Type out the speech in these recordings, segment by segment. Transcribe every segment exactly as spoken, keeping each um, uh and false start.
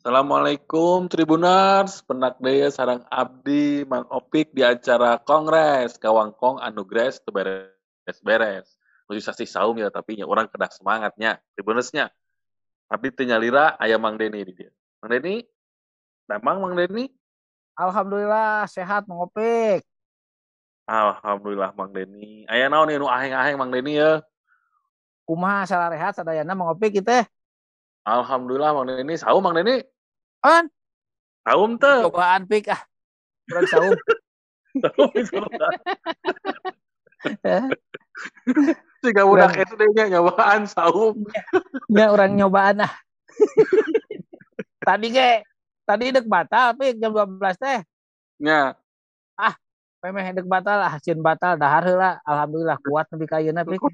Assalamualaikum Tribuners, penak deui sareng abdi Mang Opik di acara Kongres Kawangkong anu gres teu beres-beres. Nuju sasih saum ya tapi nya urang kedah semangatnya. Tribunersnya, abdi teu nyalira aya Mang Deni di dieu. Mang Deni, damang Mang Deni? Alhamdulillah sehat Mang Opik. Alhamdulillah Mang Deni. Aya naon anu aheng-aheng Mang Deni ya? Kumaha salarehat sadayana Mang Opik kitu teh? Alhamdulillah Mang Deni. Saum Mang Deni? An, Saum teu? cobaan Pik ah. Urang saum. Saum cobaan. Siga budak itu deh nya nyobaan saum. Nya urang nyobaan ah. Tadi ge tadi dek batal Pik jam dua belas teh. Nya. Ah, memeh dek batal ah, cieun batal dahar heula. Alhamdulillah kuat nepi ka ayeuna Pik.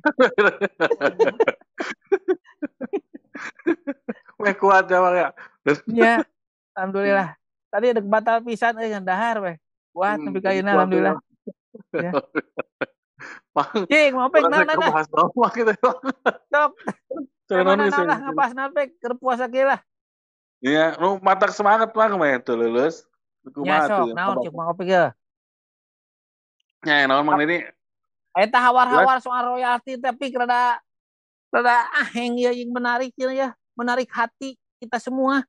Weh kuat ya Bang ya. Nya, alhamdulillah. Tadi dek batal pisan euy ngan dahar weh. Kuat Hmm, nepi ka jadi ayeuna kuat alhamdulillah. Ya. Mang, Cing, Mang Opik urang teh naon nah? kebahas naon mah kitu. Sok. Teu naon Mana geus. naon lah ngapasna Pik keur puasa kieu lah. Iya, nu matak semangat mah mah teu leuleus. Nya Kumaha sok, teu? naon cek Mang Opik ye? Nya naon Mang Deni? Eta hawar-hawar soal royalti tapi rada rada aheng ya yang menarik ya, menarik hati kita semua.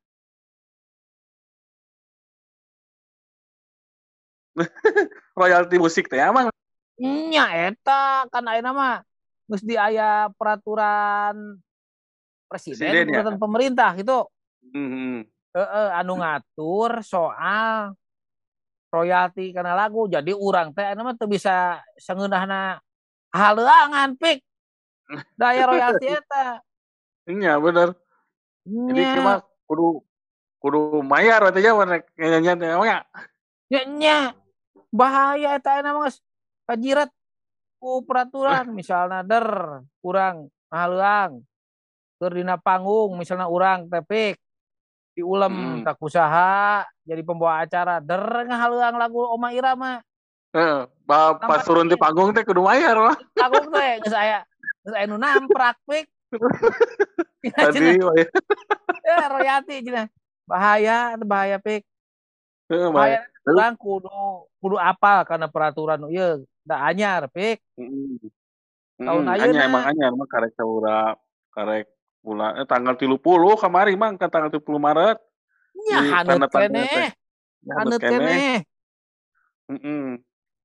Royalti musik teh emang. Nya eta kan ayeuna mah geus di aya peraturan presiden, Presiden ya. peraturan pemerintah gitu. Heeh. Heeh, anu ngatur soal royalti kana lagu. Jadi urang teh ayeuna mah teu bisa sageunahna haleuangan Pik. Daya royalti eta. Iya bener. Jadi Nya. mah kudu kudu mayar we teh nya nyanyian teh emang ya. Nya, nya. Bahaya eta ayeuna mah geus kajiret ku peraturan misalnya der urang ngahaleuang keur dina panggung misalnya urang teh Pik diulem Heeh. tak usaha jadi pembawa acara der ngahaleuang lagu Oma Irama. Heeh, pas turun di panggung teh kudu mayar mah. Panggung teh geus aya geus aya nu namprak Pik. Tadi ya royalti cenah. Bahaya, bahaya Pik. Heeh, Bahaya bae. urang kudu kudu apal karena peraturan ieu da anyar Pik. Heeh. Tahun Heeh, anyar emang ayeuna anyar mah karek saura karek bulan eh tanggal tilu puluh kamari Mang kan tanggal tilu puluh Maret. nya haneut keneh. Haneut keneh. Heeh.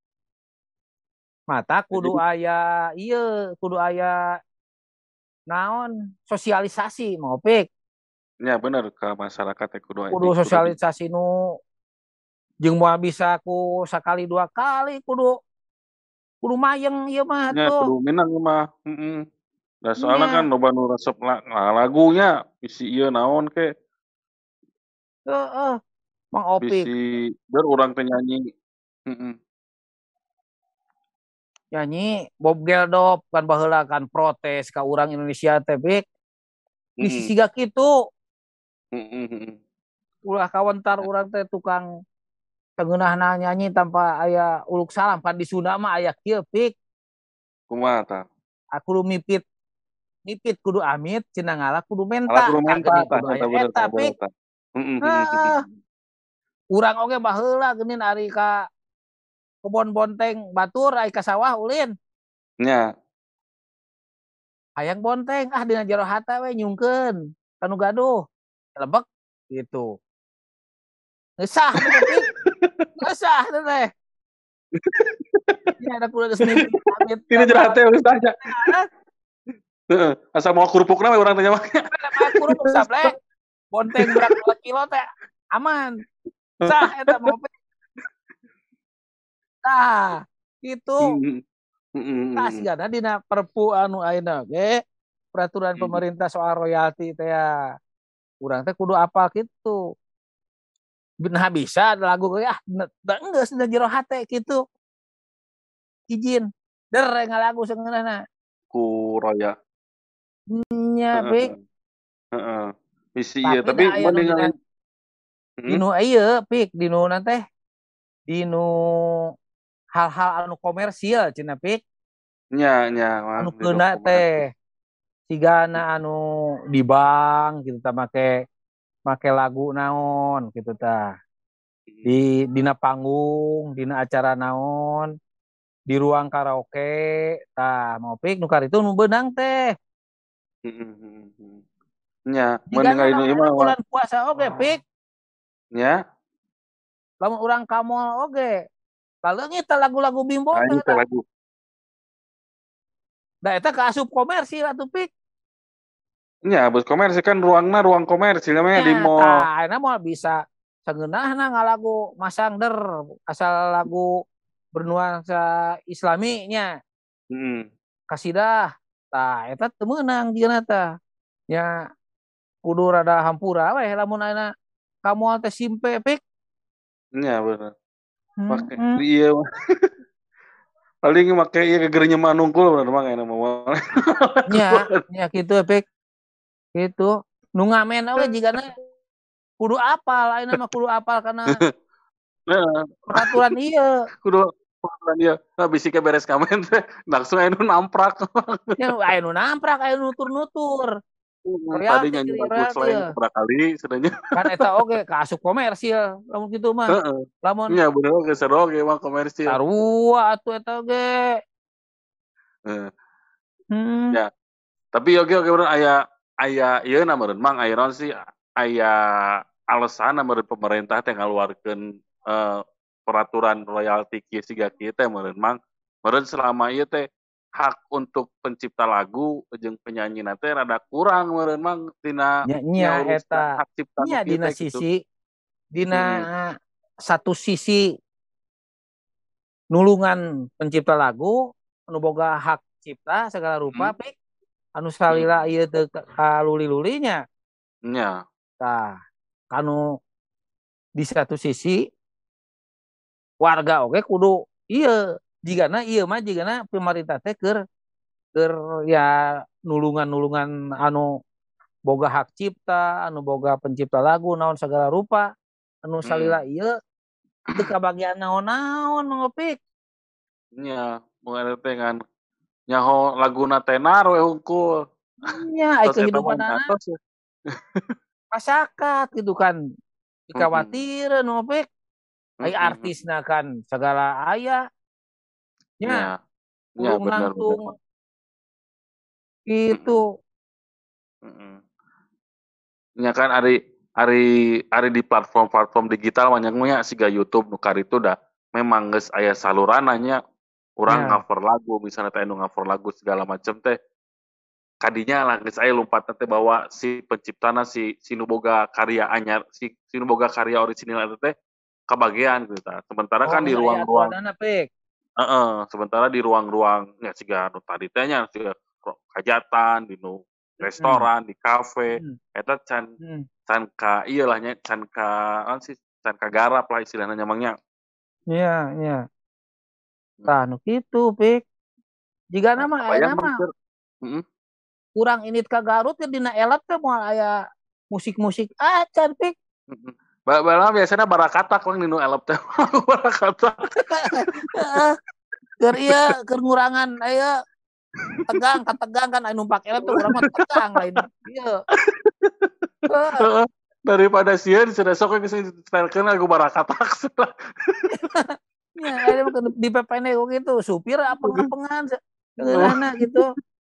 Mata kudu aya ieu, kudu aya naon sosialisasi Mang Opik. Ya bener ke masyarakat teh kudu Kudu sosialisasi nu jeung moal bisa ku sakali dua kali kudu kudu mayeng ieu mah nya tuh. kudu minang mah. Heeh. Da soalna kan loba nu resep lagunya bisi ieu naon ke. Heeh. Mang Opik. Bisi ber urang teh nyanyi. Heeh. Nyanyi Bob Geldof kan baheula kan protes ka urang Indonesia teh Pik. Bisi Heeh. siga kitu. Heeh, heeh. Ulah kawentar urang teh tukang sageunahna nyanyi tanpa aya uluk salam kan di Sunda mah aya kieu Pik. Kumaha tah? Aku lu mipit mipit kudu amit cenah ngalah kudu Ala menta kudu menta kageuning tah kudu eta aya bener eta tah bener Pik. tah. Heeh, heeh, heeh. Heeh. Urang oge baheula geunin ari ka kebon bonteng batur ai ka sawah ulin. Nya. Hayang bonteng ah dina jero hata we nyungkeun kanu gaduh. Lebek gitu. Ngesah teh Pik. Ngesah teh. Ya ada kudu geus mimpi amit. Dina jero hate geus tanya. Heeh, asa mau kerupukna we urang teh nya mah. Aya kerupuk sableng. Bonteng berat dua kilo teh aman. Sah eta Mang Opik. Tah, gitu. Heeh. Heeh, Tah heeh. sigana dina perpu anu ayeuna ge peraturan pemerintah soal royalti teh ya. Urang teh kudu apal kitu. Nah bisa lagu ge ah da enggeus da jero hate kitu. Izin. Der ngalagu sageunahna. Ku roya. Nya Heeh, Pik. heeh. Heeh. Bisi ieu Tapi tapi da aya mun nu dina ningali heeh. dinu ieu Pik dinu na teh dinu hal-hal anu komersil cenah Pik. Nya nya mah Anu dinu keuna komersil. teh sigana anu di bank gitu tah make make lagu naon gitu tah. Di dina panggung, dina acara naon, di ruang karaoke, tah Mopik nu itu nu beunang teh. Nya, Jigana mendengar ini mah bulan puasa oge, Pik. nya. Lamun urang ka mall oge. Kaleungit teh lagu-lagu Bimbo teh teh lagu. Da eta kaasup komersil atuh, Pik. Nya, bus komersil kan ruangna ruang komersil namanya di mall. Tah, enak mah bisa seungeunahna ngalagu masangder asal lagu bernuansa islami nya. Heeh. Kasidah. Tah, eta teu meunang dieuna tah. Nya kudu rada hampura we lamun ayeuna ka moal teh simpe, Pik. Nya bener. Make Hmm. iya mah. Paling make ieu gegernya manungkul bener mah enak mah. Nya, nya kitu, Pik. Gitu. Nu ngamen oge jigana kudu apal, ayeuna mah kudu apal karena peraturan ieu. Kudu peraturan ieu. Nah bisike beres ngamen teh langsung aya nu namprak. Ya aya nu namprak, aya nu nutur-nutur. Tadi nyanyi lagu slang berapa kali sebenarnya. Kan eta oge kaasup komersil lamun kitu mah. Heeh. Lamun nya bener oge seru oge mah komersil. sarua atuh eta oge. Heeh. Hmm. Ya. Tapi oge oge bener aya aya ieu na meureun mang aya naon sih aya alasan meureun pemerintah teh ngaluarkeun uh, peraturan royalti kieu siga kieu teh meureun mang. Meureun selama ieu teh hak untuk pencipta lagu jeung penyanyi teh rada kurang meureun mang tina nya eta hak cipta nya dina sisi gitu. Dina hmm. satu sisi nulungan pencipta lagu anu boga hak cipta segala rupa hmm. Pik anu salila ieu teu kaluli-lulinya nya tah kanu di satu sisi warga oke kudu ieu jigana ieu mah jigana pemerintah teh keur keur ya nulungan-nulungan anu boga hak cipta anu boga pencipta lagu naon segala rupa anu salila hmm. ieu teu kabagian naon-naon Mangopik nya mun teh kan nyaho laguna tenar we hungkul nya ai kehidupan anak masyarakat gitu kan dikhawatir Mangopik ai artisna kan segala aya nya nya bener bener gitu heeh nya kan ari ari ari di platform-platform digital banyaknya siga YouTube nu karitu dah memang geus aya salurananya urang yeah. cover lagu misalnya teh anu cover lagu segala macam teh kadinya lah geus aya lompatna teh bahwa si penciptana si si nu boga karya anyar si si nu boga karya orisinal eta teh kabagean gitu ta. Sementara oh, kan di ruang-ruang heeh, uh, sementara di ruang-ruang ya siga anu tadi teh nya siga hajatan di nu restoran, hmm. di kafe, hmm. eta can hmm. can ka ieu lah nya can ka naon sih can ka garap lah istilahna nyamangnya. Iya, iya. Tah nu kitu, Pik. Jigana mah aya mah. Heeh. Kurang init ka Garut ya dina elap teh moal aya musik-musik acan, Pik. Heeh. Ba-bala biasana barakatak we dinu elap teh. Barakatak. Heeh. Keur ieu keur ngurangan aya tegang, kategang kan anu numpak elap teh urang mah tegang lain. Ieu. Heeh. Daripada sieun cenah sok geus disetelkeun lagu barakatak. Ya, ada di P P N gitu, supir apeng-apengan seungeunahna gitu.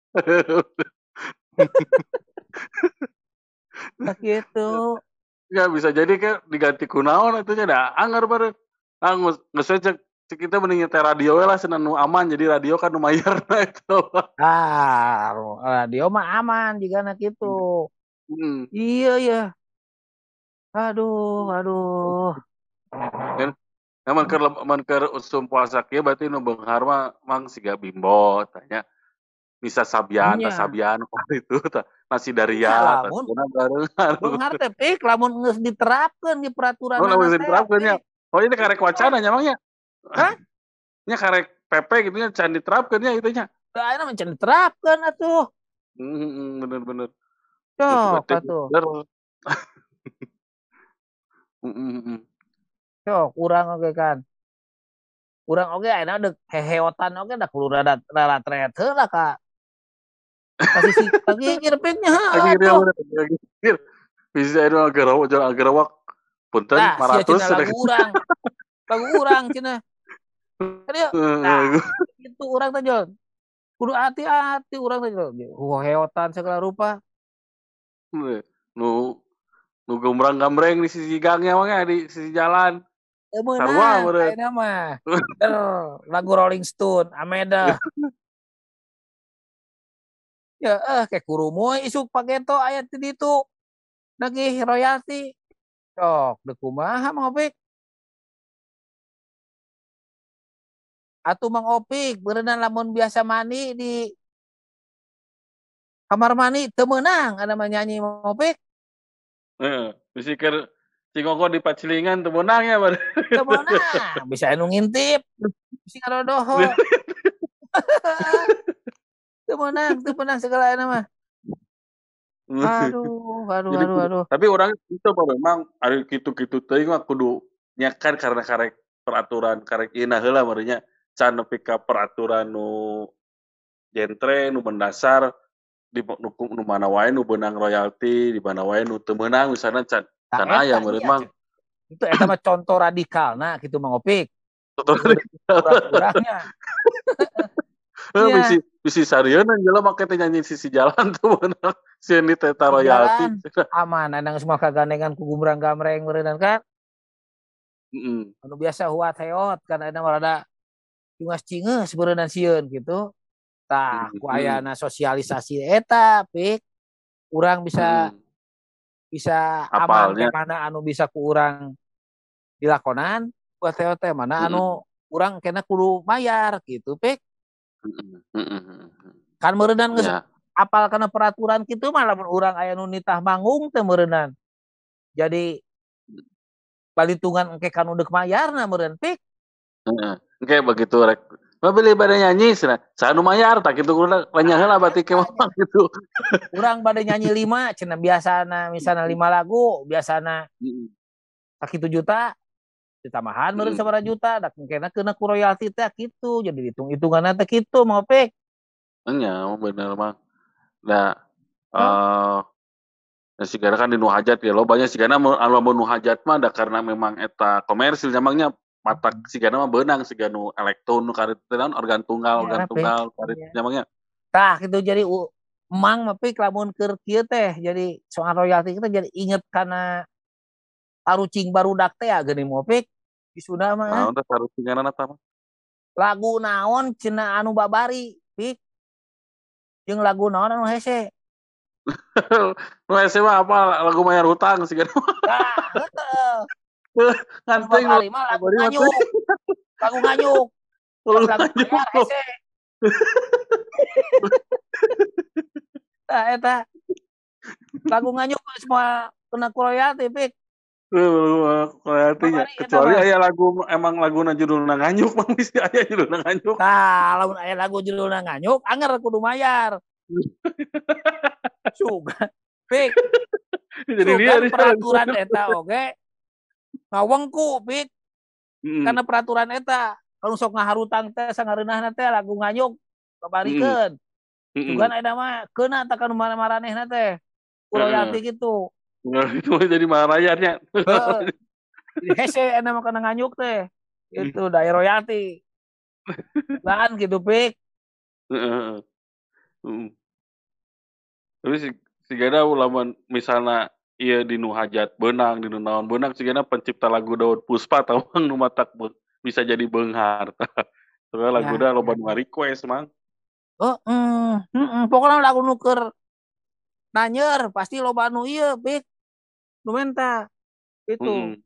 Nah gitu. Ya bisa jadi kan diganti kunaon atunya da anggar bareng. Ah geus cek cek kita mending nyetel radio we lah cenah nu aman jadi radio kan nu mayarna itu. Ah, radio mah aman jigana gitu. Hmm. Iya ya. Aduh, aduh. Dan Namun keur mun keur usum puasa kieu berarti nu beunghar mah mang siga Bimbo tanya. Bisa Sabian, tah Sabian itu tah nasi Daria tah barengan. Beunghar teh Pik lamun geus diterapkeun di peraturan oh, geus diterapkeun nya. Oh ini karek wacana nya mangnya. Hah? Nya karek P P gitu nya can diterapkeun nya itu nya. Tah ayeuna mah can diterapkeun atuh. Heeh, bener-bener. Cok atuh. Heeh, heeh. Cok, urang oge kan. Urang oge ayeuna deuk heheotan oge da kudu rada rada tret heula ka. Ka sisi lagi ngirpitnya heeh. Lagi ngir. Bisa itu agerawak jeung agerawak. Punten Nah, sia lima ratus cenah lagu urang. Lagu urang cenah. Kan nah, itu urang teh Jon. Kudu hati-hati urang teh Jon. Hoheotan segala rupa. Nu nu gembrang-gambreng di sisi gangnya mah di sisi jalan. Sarua meureun. Ayeuna mah. Lagu Rolling Stone, Ameda. Ya eh kayak kurumoy isuk pageto aya di ditu. Nagih royalti. Sok, deuk kumaha Mang Opik? Atuh Mang Opik, berenang lamun biasa mani di kamar mani teu meunang ada mah nyanyi Mang Opik. Heeh, bisi keur cingoko di pacilingan teu meunang ya bari. Teu meunang, bisa anu ngintip. Bisi ngadodoho. Teu meunang, teu meunang segala euna mah. Aduh, aduh, Jadi, aduh, aduh. tapi orang itu memang ari kitu-kitu teuing mah kudu nyakan karena karek peraturan karek ieu heula meureun nya can nepi ka peraturan nu jentre nu mendasar di nu, nu mana wae nu beunang royalti di mana wae nu teu meunang misalna can can aya meureun mah. Itu eta mah contoh radikalna kitu Mang Opik. Kurang-kurangnya. Heeh, bisi bisi sarieuna jelema make teh nyanyi sisi jalan tuh beunang sieun di teta royalti. Aman, anda semua kagandengan ku gumbrang-gamreng meureunan kan. Heeh. Anu biasa huat heot kan ada rada cingeus-cingeus beureunan sieun gitu. Tah, ku ayana sosialisasi eta, Pik. Urang bisa hmm. bisa aman teh mana anu bisa ku urang dilakonan, buat heot teh mana anu hmm. urang kena kudu mayar gitu, Pik. Heeh. Kan meureunnan geus ya. Apal kana peraturan kitu mah lamun urang aya nu nitah manggung teh meureunnan. Jadi balitungan engke kan udah mayarna meureun Pik. Heeh. Engke begitu rek. Mau beli bade nyanyi cenah. Saha nu mayar tah kitu kudu lanya heula bati ke mah gitu. Urang bade nyanyi lima cenah biasana misalna lima lagu, biasana heeh. Sakitu juta ditambahan meureun sabaraha juta da engkena keuna ku royalti teh kitu. Jadi hitung-hitunganna teh kitu Mang Opik. Nya bener mah. Nah, eh uh, sigana kan di nu hajat ya lo banyak sigana anu nu hajat mah da karena memang eta komersil nyamangnya mata sigana mah beunang siga nu elektron nu karet naon organ tunggal organ tunggal karet nyamangnya. Tah kitu jadi emang mah Pik lamun keur kieu teh jadi soal royalti kita jadi inget kana tarucing barudak teh geuning mah Pik. Isuna mah. Naon teh tarucinganna tah mah? Lagu naon cenah anu babari Pik. Jeung lagu naon anu hese? Nu hese mah apa lagu mayar hutang sigana. Nah, heeh. Nganteng lagu nganyuk. Lagu nganyuk. Lagu mayar hese. Tah eta. Lagu nganyuk semua kena ku royalti Pik. Royaltinya. Kecuali aya lagu emang laguna judulna nganyuk mah mesti aya judulna nganyuk. Tah, lamun aya lagu judulna nganyuk anger kudu mayar. Sugan. Pik. Jadi dia peraturan eta oge ngawengku Pik. Hmm. Karena peraturan eta kalau sok ngaharutang teh sangareunahna teh lagu nganyuk kabarikeun. Hmm. Sugan aya mah keuna tah ka maranehna teh. Royalti gitu. Nah, itu jadi marayarnya. Heeh. Jadi hese aya mah kana nganyuk teh. Itu daerah royalti. Kan gitu Pik. Heeh. Heeh. Terus sigana lamun misalna ieu di nu hajat beunang di nu naon beunang sigana pencipta lagu Daud Puspa tawang nu matak bisa jadi beunghar. Soalnya lagu da loba nu request mang. Heeh. Heeh, pokona lagu nu keur nanyer pasti loba nu ieu Pik. Nu menta. Itu.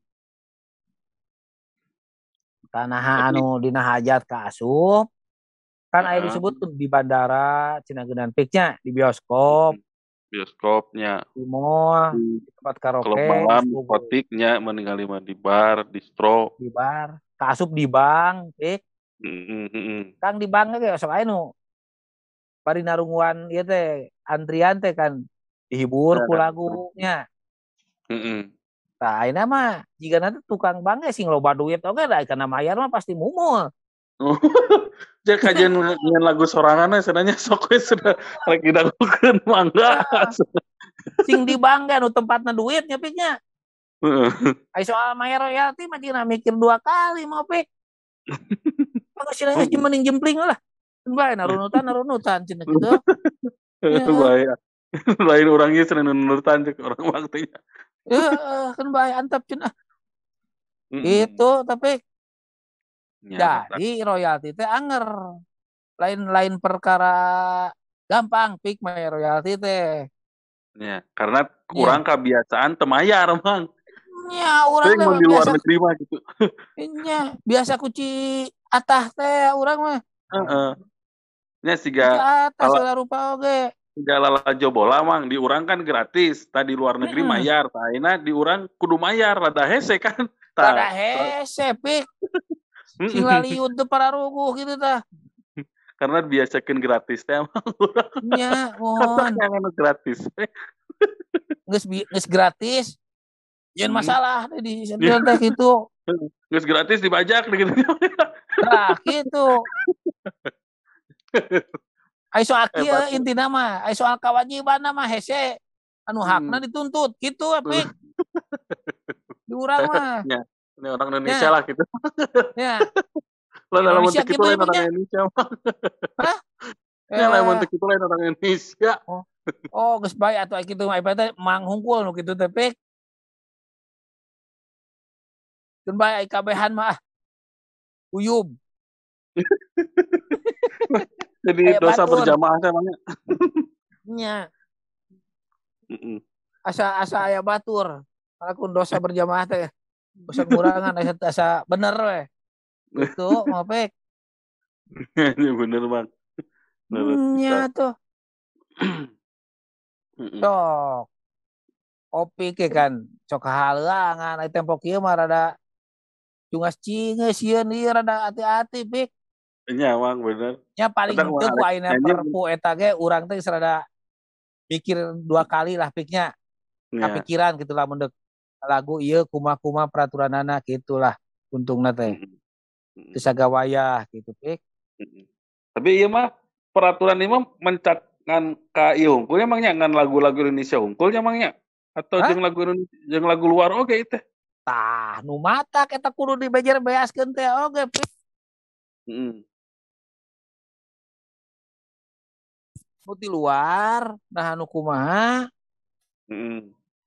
Tanah anu dina hajat ka asup. Kan aya disebutkeun di bandara cenah geunan Piknya di bioskop. Bioskopnya di mall, di tempat karaoke, klub malam, diskotiknya, meninggali mah di bar, distro, di bar, kaasup di bank, Pik. Heeh, heeh. Kang di bank ge sok aya nu bari narungguan ieu teh antrian teh kan dihibur ku lagunya. Heeh. Tah ayeuna mah jigana teh tukang bank ge sing loba duit oge da kana mayar mah pasti mumul. Cek kajian nyian lagu sorangan sebenarnya sok we sudah lagi dagukeun mangga. Sing di bangga nu tempatna duitnya piknya. Heeh. Ai soal mayar royalti mah cenah mikir dua kali mau pik. Mangga sih geus mending jempling lah. Bae narunutan narunutan cenah kitu. Ya. Bae. Lain urang ieu cenah nurutan cek orang waktunya. Heeh, kan bae antep cenah. Mm-mm. Itu tapi Ya, jadi royalti teh anger. Lain-lain perkara gampang pik mayar royalti teh. ya, karena Ya. kurang kebiasaan temayar, Mang. Ya, orang Sering teh di luar biasa negeri mah gitu. nya biasa kuci atah teh urang mah. Heeh. Nya Kuci siga atah lala segala rupa oge. siga lalajo bola Mang, di urang kan gratis. Tah di luar negeri Heeh. mayar, tah ayeuna di urang kudu mayar, rada hese kan. Rada Tah. hese pik. Sing Heeh. laliud teh pararuguh gitu tah. Karena biasakeun gratis teh Mang. Nya, Katak mohon. yang anu gratis. Geus geus gratis. Jangan Hmm. masalah teh di sendirian teh gitu. Geus gratis dibajak gitu. Tah gitu. Ai soal kieu Hebat. intina mah, ai soal kewajiban mah hese. Anu hakna Hmm. dituntut gitu pik. Di urang mah. Ya, ini orang Indonesia Ya. lah gitu. Ya. Lah lamun Indonesia teu kitu gitu lain ya, orang Piknya. Indonesia mah. Hah? Ya lamun Eh, teu kitu lain orang Indonesia. oh, oh geus bae atuh ai kitu mah ibarat teh manghungkul nu kitu teh pik. Keun bae ai kabehan mah ah. Uyub. Jadi Aya dosa batur. berjamaah teh mangnya. Nya. Heeh. Asa asa aya batur. Ngalakuan dosa berjamaah teh. Dosa ngurangan asa asa bener we. Gitu, mah pik. Ini bener, Bang. Bener. Nya tuh. Heeh. Cok. Kopi ke kan cok halangan ai tempo kieu mah rada cungas cingeus sieun ieu rada hati-hati pik. Nya, Bang, bener. Nya paling Kadang henteu mah ku arek ayeuna nyanyi. perpu eta ge urang teh rada mikir dua kali lah piknya. Ya. Kapikiran gitu lah mun lagu ieu kumaha-kumaha peraturanana gitulah untungna teh. Heeh. Teu sagawayah gitu pik. Heeh. Tapi ieu mah peraturan ieu mah mencak ngan ka ieu hungkulnya mangnya ngan lagu-lagu Indonesia hungkulnya mangnya atau Hah? jeung lagu Indonesia jeung lagu luar oge teh. Tah nu matak eta kudu dibejer beaskeun teh oge pik. Heeh. Nu di luar nah anu kumaha Heeh.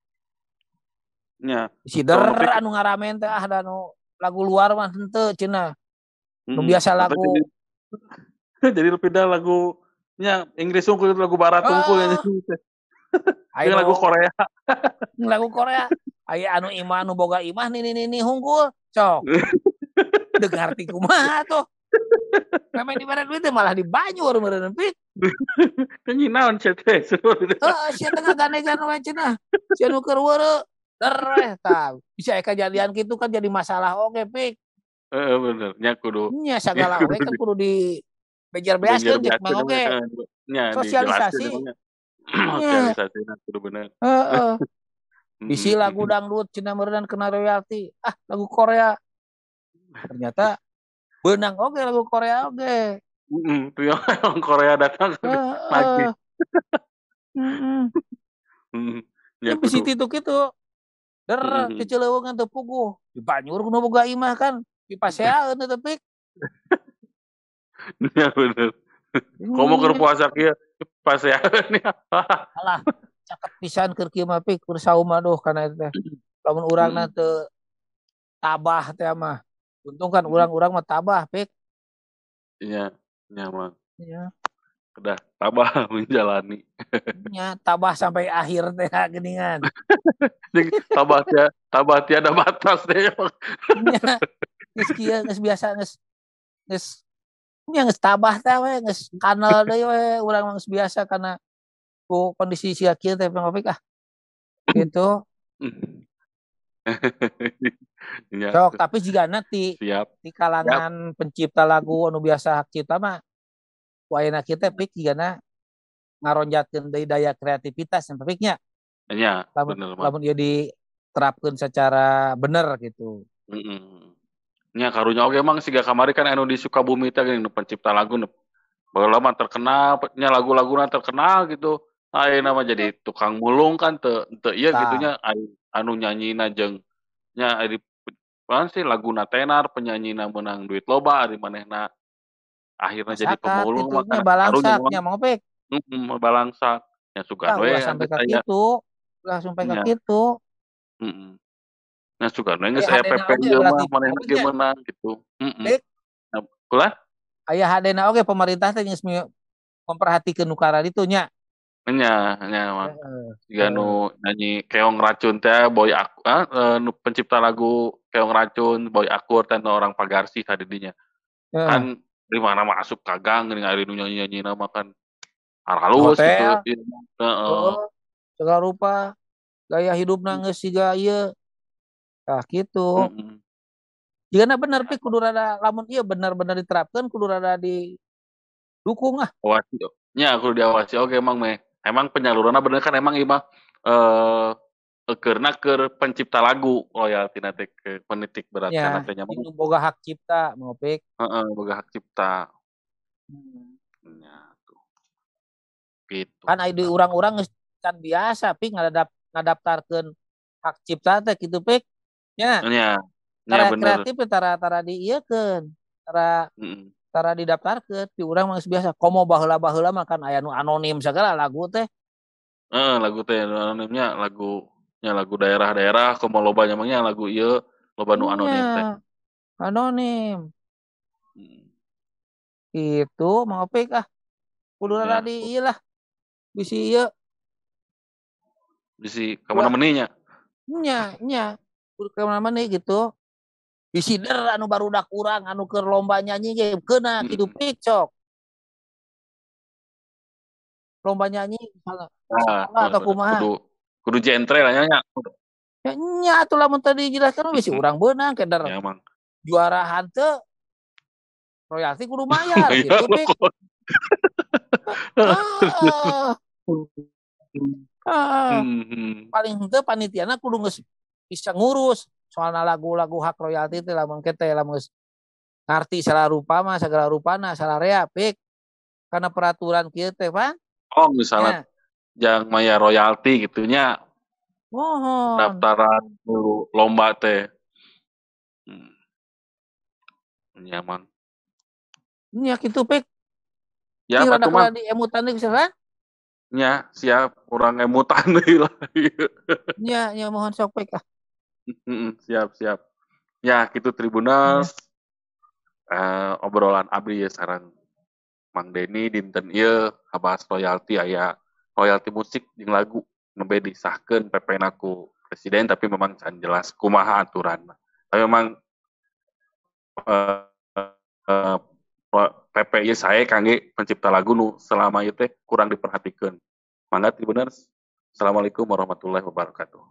Nya. sider Kalau nu anu ngaramen teh ah da nu lagu luar mah henteu cenah. Nu Hmm, biasa atau lagu jadi jadi pindah lagunya Inggris unggul lagu barat unggul ya. Ayo Yang lagu Korea. lagu Korea. Aya anu imah nu boga imah nih nih nih unggul. Cok. Dengar ti kumaha tuh. Memang di barat duit malah di Banyur meureun pik. Kan nyinaon chat teh. Heeh, sia tengah ganegan we cenah. Sia nu keur weureu. Tereh tah. Bisa kejadian gitu kan jadi masalah oge pik. Heeh, bener. Nya kudu. Nya sagala oge kan kudu di bejer beaskeun cek mang oge. Nya Sosialisasi. dijelasin sosialisasi kudu bener. Heeh. Bisi lagu dangdut cenah meureun kena royalti. Ah, lagu Korea. Ternyata beunang oge lagu Korea oge. Heeh, tuh yang Korea datang lagi. Heeh. Heeh. Ya bisi titu kitu. Der keceleungan teu puguh. Di Banyur kudu boga imah kan. Dipaseaeun teh pik. Ya bener. Komo keur puasa kieu paseaeun ya. Alah, cakep pisan keur kieu mah pik keur saum aduh kana teh. Lamun urangna teu tabah teh mah. Untung kan urang-urang mah tabah pik. Iya, nyaman. Iya. Udah tabah menjalani. Nya tabah sampai akhir teh geuningan. tabah tia tabah tiada batas teh. Nya geus kieu geus biasa geus geus nya geus tabah teh we geus kanal deui we urang mah geus biasa karena ku kondisi sia kieu teh pik ah. Gitu. Sok tapi jika nanti Siap. di kalangan Siap. Pencipta lagu anu biasa hak cipta mah ku ayeuna kieu teh pik jigana ngaronjatkeun deui daya kreativitas yang piknya. Nya, lamun, bener lamun ieu diterapkeun secara bener gitu. Heeh. Nya karunya oge emang siga kamari kan anu di Sukabumi teh geuning pencipta lagu baheula mah terkenal nya lagu-laguna terkenal gitu. Ayeuna mah jadi tukang mulung kan teu teu ieu Tah. gitunya ai anu nyanyina jeung nya ari naon sih laguna tenar, penyanyina meunang duit loba, ari manehna akhirna jadi Masakat pemulung mah itunya kana karunya balangsak memang nya Mang Opik. mhm, balangsak. Ya sugan Tah we ulah sampai geus ka aya kitu, ulah sampai ka nya, kitu. mhm. Nya sugan we geus Aya aya hadena P P oge ieu mah berarti Mang manehna Opik ge nya. meunang gitu, mhm. Pik. Ap kumaha? Aya hadena oge pemerintah teh geus me memperhatikeun nu kara ditu nya. Nya nya Mang. Heeh, Siga nu heeh. nyanyi Keong Racun teh Boy Ak ah, eee, nu pencipta lagu Keong Racun, Boy Akur teh nu orang Pagarsih tah di dinya. Kan Heeh. di mana masuk ka gang geuning ari nu nyanyi-nyanyina mah kan Di halus gitu hotel, ieu mah, heeh. heeh, segala rupa gaya hidupna Mmm. geus siga ieu, tah kitu. Mhm. Yeuna bener Pik kudu rada lamun ieu bener-bener diterapkeun kudu rada didukung ah. Awasi o nya kudu diawasi oge Mang meh. Emang penyaluranna bener kan emang ieu mah, eee, eukeurna keur pencipta lagu royaltina teh ke penitik beratkanna Ya, teh nya mah. itu boga hak cipta Mang Opik. Heeh, boga hak cipta. Hmm. Nya tuh. Gitu. Kan aya di urang-urang geus can biasa Pik ngadap ngadaptarkeun hak cipta teh kitu Pik, nya. Nya, nya Karya bener. kreatif teh tara tara diieukeun, tara Mhm. tara didaptarkeun, di urang mah geus biasa. Komo baheula-baheula mah kan aya nu anonim sagala lagu teh. Heeh, lagu teh nu anonimnya lagu nya lagu daerah-daerah komo loba nya mah nya lagu ieu, loba nu Nya, anonim teh. anonim. Mhm. Gitu Mang Opik ah. Kudu rada Nya. di ieu lah, bisi ieu. Bisi ka Ulah mana-mani nya. nya nya, kudu ka mana-mani gitu. Bisi der anu barudak urang anu keur lomba nyanyi ge keuna kitu Mhm. Pik sok. Lomba nyanyi misalna di Nah, sakola bener atau bener. kumaha. Kudu kudu jentre lah nya nya. Ya nya atuh lamun teu dijelaskeun mah bisi Mhm. urang beunang keder Ya Mang. juara hanteu royalti kudu mayar Iya gitu Pik. pokok Heeh. Heeh. Mhm. Paling henteu panitiana kudu geus bisa ngurus soalna lagu-lagu hak royalti teh lamun kitu lamun geus ngarti salarupa mah sagala rupana sararea Pik. Kana peraturan kieu teh pan. Oh misalnya Nya. jang mayar royalti gitu nya. Mohon. Pendaftaran nu lomba teh. Mhm. Nya Mang. Nya kitu Pik. Siap Ting rada atuh Mang. rada emutan deui bisa kan? Nya, siap urang emutan deui lah ieu. Nya nya mohon sok Pik ah. Mhm, siap siap. Ya kitu Nya. Tribuners, eee, obrolan abdi ye sareng Mang Deni dinten ieu ngabahas royalti aya royalti musik jeung lagu nembe disahkeun P P-na ku presiden tapi memang can jelas kumaha aturanna. Tapi memang eee eee, P P ieu sae kangge pencipta lagu nu selama ieu teh kurang diperhatikeun. Mangga Tribuners, Assalamualaikum warahmatullahi wabarakatuh.